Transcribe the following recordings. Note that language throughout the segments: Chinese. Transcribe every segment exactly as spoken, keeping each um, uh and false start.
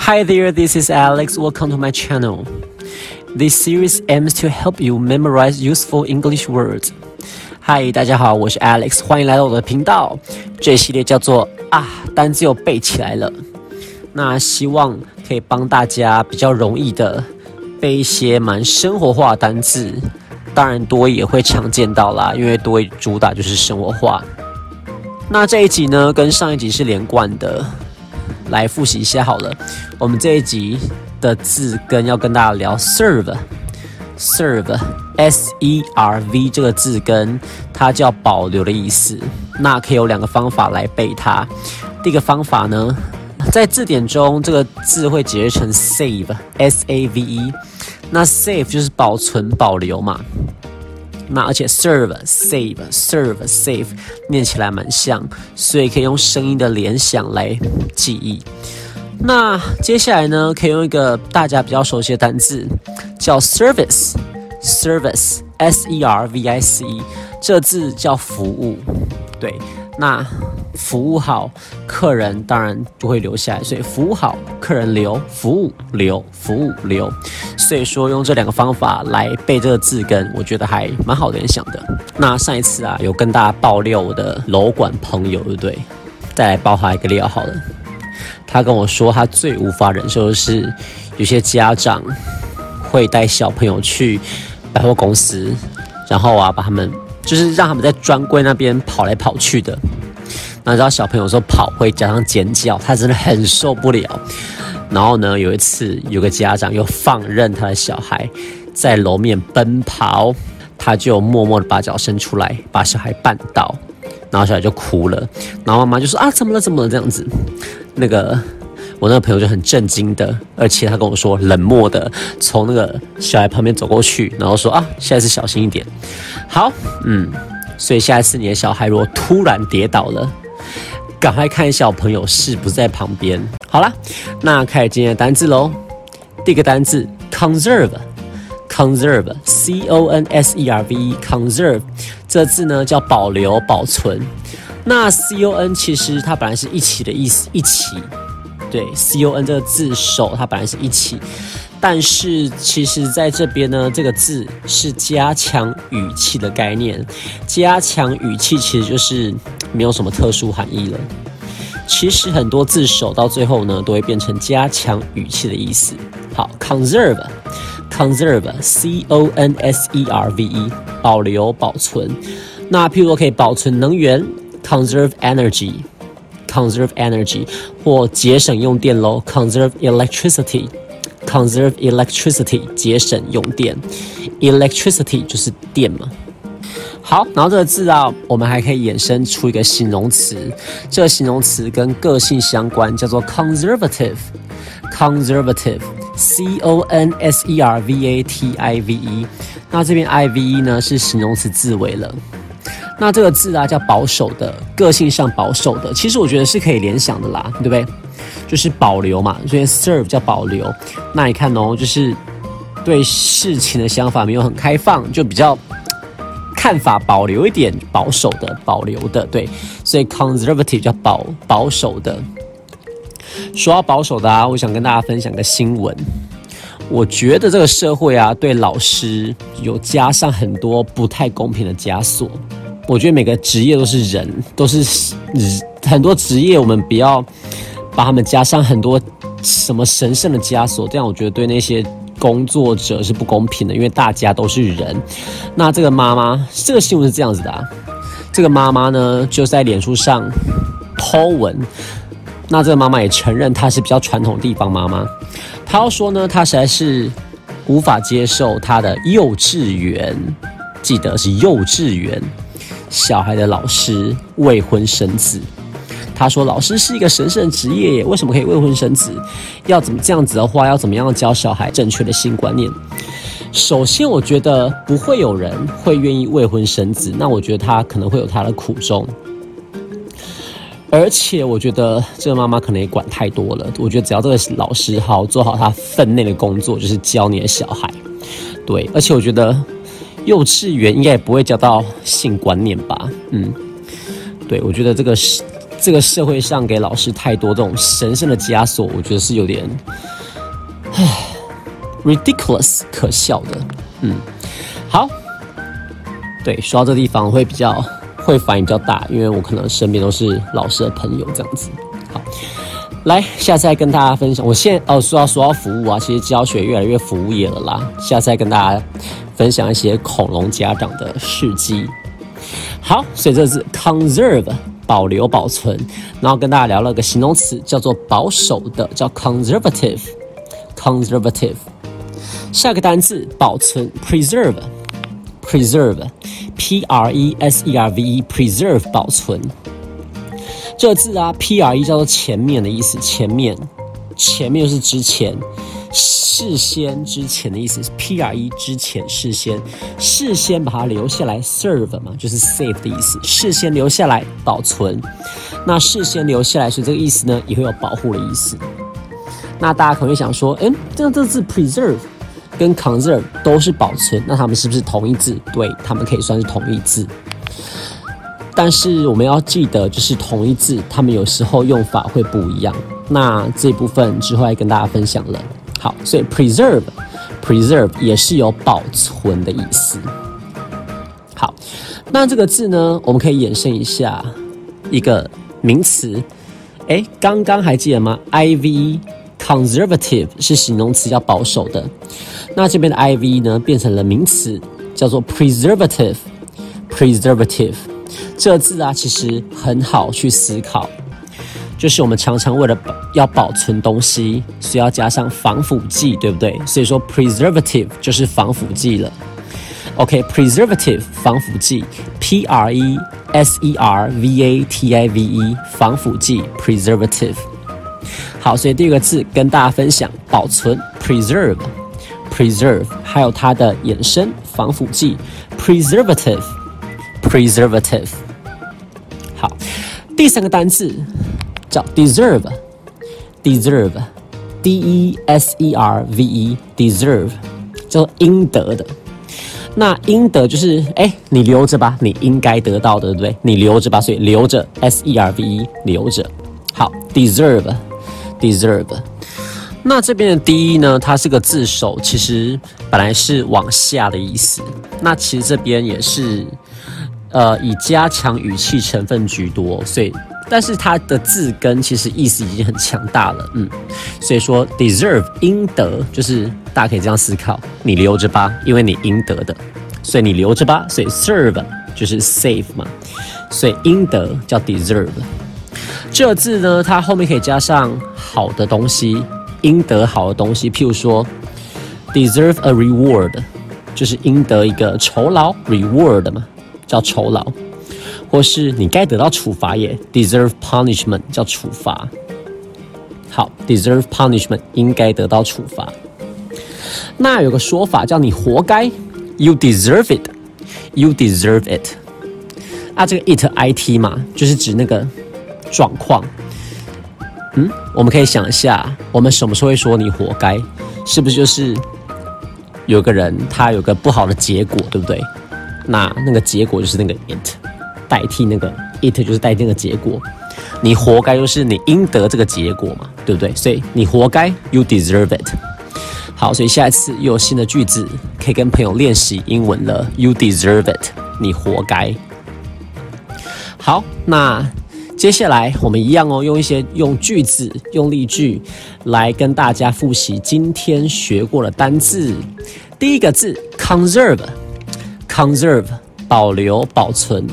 Hi there, this is Alex. Welcome to my channel. This series aims to help you memorize useful English words. Hi, 大家好，我是 Alex， 欢迎来到我的频道。这一系列叫做啊，单字又背起来了。那希望可以帮大家比较容易的背一些蛮生活化的单字。当然多益也会常见到啦，因为多益主打就是生活化。那这一集呢，跟上一集是连贯的。来复习一下好了，我们这一集的字根要跟大家聊 serve，serve S E R V 这个字根，它叫保留的意思。那可以有两个方法来背它。第一个方法呢，在字典中这个字会解释成 save，S A V E。那 save 就是保存、保留嘛。那而且 serve save serve save 念起来蛮像，所以可以用声音的联想来记忆。那接下来呢，可以用一个大家比较熟悉的单字叫 service service S E R V I C E， 这字叫服务。对，那服务好，客人当然就会留下来，所以服务好，客人留，服务留，服务留。所以说用这两个方法来背这个字根，我觉得还蛮好联想的。那上一次啊，有跟大家爆料我的楼管朋友，对不对？再来爆他一个料好了。他跟我说，他最无法忍受的是，有些家长会带小朋友去百货公司，然后啊，把他们就是让他们在专柜那边跑来跑去的。那你知道小朋友说跑会加上尖叫，他真的很受不了。然后呢，有一次有个家长又放任他的小孩在楼面奔跑，他就默默的把脚伸出来，把小孩绊倒，然后小孩就哭了。然后妈妈就说啊，怎么了怎么了这样子。那个我那个朋友就很震惊的，而且他跟我说冷漠的从那个小孩旁边走过去，然后说啊，下一次小心一点。好，嗯，所以下一次你的小孩如果突然跌倒了，赶快看小朋友是不是在旁边。好啦，那开始今天的单字咯。第一个单字 conserve conserve C O N S E R V E conserve 这字呢叫保留保存。那 C O N 其实它本来是一起的意思，一起。对 C O N 这个字首它本来是一起，但是其实在这边呢，这个字是加强语气的概念。加强语气其实就是没有什么特殊含义了。其实很多字首到最后呢，都会变成加强语气的意思。好 ，conserve conserve C O N S E R V E 保留保存。那譬如说可以保存能源 conserve energy conserve energy 或节省用电咯 conserve electricity conserve electricity 节省用电 electricity 就是电嘛。好，然后这个字啊，我们还可以衍生出一个形容词，这个形容词跟个性相关，叫做 conservative conservative C O N S E R V A T I V E。 那这边 I V E 呢是形容词字尾了。那这个字啊叫保守的，个性上保守的，其实我觉得是可以联想的啦，对不对？就是保留嘛，所以 serve 叫保留。那你看哦，就是对事情的想法没有很开放，就比较看法保留一点，保守的，保留的，对，所以 conservative 叫保保守的。说到保守的啊，我想跟大家分享个新闻。我觉得这个社会啊，对老师有加上很多不太公平的枷锁。我觉得每个职业都是人，都是很多职业，我们不要把他们加上很多什么神圣的枷锁，这样我觉得对那些工作者是不公平的，因为大家都是人。那这个妈妈，这个新闻是这样子的啊，这个妈妈呢就在脸书上 po 文，那这个妈妈也承认她是比较传统地方妈妈，她要说呢，她实在是无法接受她的幼稚园，记得是幼稚园小孩的老师未婚生子。他说老师是一个神圣的职业耶，为什么可以未婚生子？要怎么这样子的话，要怎么样教小孩正确的性观念？首先我觉得不会有人会愿意未婚生子，那我觉得他可能会有他的苦衷。而且我觉得这个妈妈可能也管太多了，我觉得只要这个老师好做好他分内的工作，就是教你的小孩。对，而且我觉得幼稚园应该也不会教到性观念吧。嗯，对，我觉得这个是这个社会上给老师太多这种神圣的枷锁，我觉得是有点，唉 ，ridiculous 可笑的。嗯，好，对，说到这地方会比较会反应比较大，因为我可能身边都是老师的朋友这样子。好，来，下次再跟大家分享。我现在哦，说到说到服务啊，其实教学越来越服务业了啦。下次再跟大家分享一些恐龙家长的事迹。好，所以这是 conserve 保留保存，然后跟大家聊了个形容词，叫做保守的，叫 conservative conservative。下个单字保存 preserve preserve p r e s e r v e preserve 保存。这个字啊 ，P R E 叫做前面的意思，前面，前面就是之前，事先之前的意思 ，P R E 之前，事先，事先把它留下来 ，serve 嘛，就是 save 的意思，事先留下来保存。那事先留下来，所以这个意思呢，也会有保护的意思。那大家可能会想说，嗯，这样这字 preserve 跟 conserve 都是保存，那它们是不是同义字？对，它们可以算是同义字。但是我们要记得，就是同义字，它们有时候用法会不一样。那这部分之后来跟大家分享了。好，所以 preserve preserve 也是有保存的意思。好，那这个字呢，我们可以衍生一下一个名词。哎，刚刚还记得吗 ？I V conservative 是形容词，叫保守的。那这边的 I V 呢，变成了名词，叫做 preservative preservative。这个字啊，其实很好去思考，就是我们常常为了要保存东西，所以要加上防腐剂，对不对？所以说 preservative 就是防腐剂了。OK，preservative 防腐剂 ，P R E S E R V A T I V E 防腐剂 preservative。好，所以第二个字跟大家分享保存 preserve preserve， 还有它的衍生防腐剂 preservative preservative。好，第三个单字叫 deserve deserve D E S E R V E deserve 叫做应得的。那应得就是哎，你留着吧，你应该得到的，对不对？你留着吧，所以留着 S E R V E 留着。好 deserve deserve。那这边的 D 呢，它是个字首，其实本来是往下的意思。那其实这边也是呃以加强语气成分居多，所以但是它的字根其实意思已经很强大了，嗯，所以说 deserve 应得，就是大家可以这样思考，你留着吧，因为你应得的，所以你留着吧，所以 serve 就是 save 嘛，所以应得叫 deserve。这个字呢，它后面可以加上好的东西，应得好的东西，譬如说 deserve a reward， 就是应得一个酬劳 reward 嘛，叫酬劳。或是你该得到处罚也 deserve punishment 叫处罚。好 deserve punishment 应该得到处罚。那有个说法叫你活该 you deserve it you deserve it。啊，这个 it it 嘛，就是指那个状况。嗯，我们可以想一下，我们什么时候会说你活该？是不是就是有个人他有个不好的结果，对不对？那那个结果就是那个 it。代替那个 it 就是代替那个结果，你活该就是你应得这个结果嘛，对不对？所以你活该 you deserve it。好，所以下一次又有新的句子可以跟朋友练习英文了 you deserve it， 你活该。好，那接下来我们一样哦，用一些用句子用例句来跟大家复习今天学过的单字。第一个字 conserve conserve保留、保存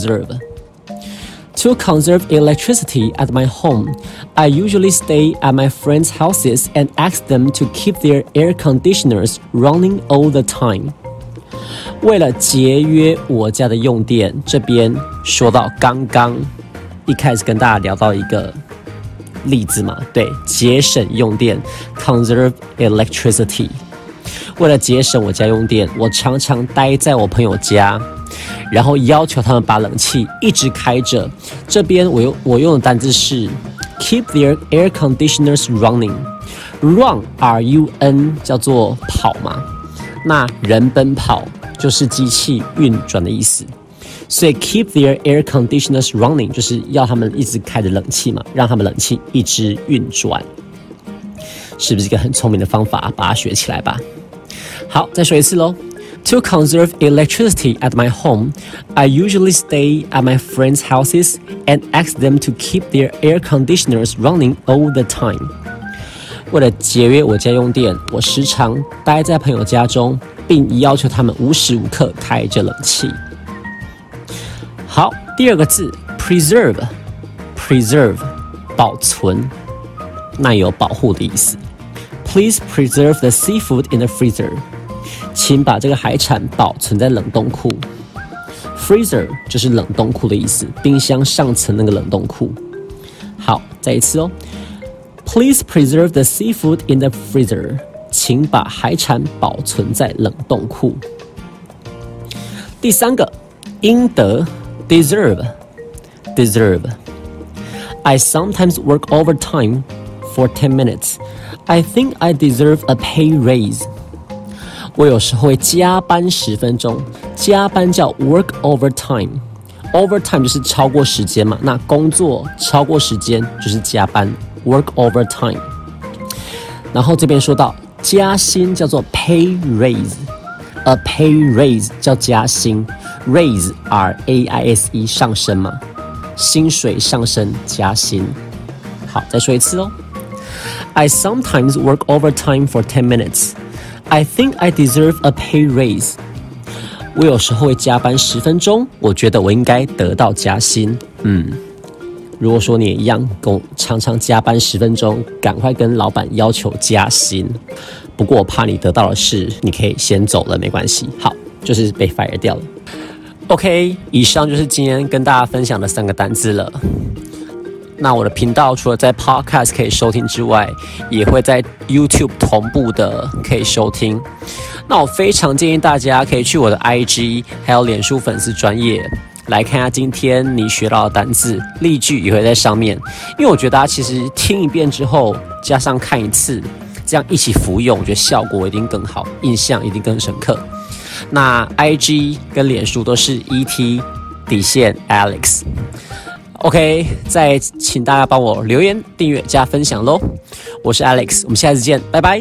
conserve。To conserve electricity at my home, I usually stay at my friends' houses and ask them to keep their air conditioners running all the time. 为了节约我家的用电，这边说到刚刚一开始跟大家聊到一个例子嘛，对，节省用电 conserve electricity。为了节省我家用电，我常常待在我朋友家，然后要求他们把冷气一直开着。这边我用我用的单字是 keep their air conditioners running。run R U N 叫做跑嘛，那人奔跑就是机器运转的意思， 所以 keep their air conditioners running 就是要他们一直开着冷气嘛，让他们冷气一直运转，是不是一个很聪明的方法？把它学起来吧。好，再说一次咯。To conserve electricity at my home, I usually stay at my friends' houses and ask them to keep their air conditioners running all the time. 为了节约我家用电，我时常待在朋友家中，并要求他们无时无刻开着冷气。好，第二个字 preserve， preserve 保存，那有保护的意思。Please preserve the seafood in the freezer. 请把这个海产保存在冷冻库。Freezer 就是冷冻库的意思，冰箱上层那个冷冻库。好，再一次哦。Please preserve the seafood in the freezer. 请把海产保存在冷冻库。第三个，应得 deserve deserve. I sometimes work overtime for ten minutes. I think I deserve a pay raise. 我有时候会加班十分钟，加班叫 work overtime。overtime 就是超过时间嘛，那工作超过时间就是加班 work overtime。然后这边说到加薪叫做 pay raise，a pay raise 叫加薪 ，raise R A I S E 上升嘛，薪水上升加薪。好，再说一次哦。I sometimes work overtime for ten minutes. I think I deserve a pay raise. 我有时候会加班十分钟，我觉得我应该得到加薪。嗯，如果说你也一样，跟我常常加班十分钟，赶快跟老板要求加薪。不过我怕你得到的是，你可以先走了，没关系。好，就是被 fire 掉了。OK， 以上就是今天跟大家分享的三个单字了。那我的频道除了在 Podcast 可以收听之外，也会在 YouTube 同步的可以收听。那我非常建议大家可以去我的 I G 还有脸书粉丝专页来看一下今天你学到的单字，例句也会在上面。因为我觉得大家其实听一遍之后，加上看一次，这样一起服用，我觉得效果一定更好，印象一定更深刻。那 I G 跟脸书都是 E T 底线 Alex。OK， 再请大家帮我留言、订阅、加分享咯。我是 Alex， 我们下次见，拜拜。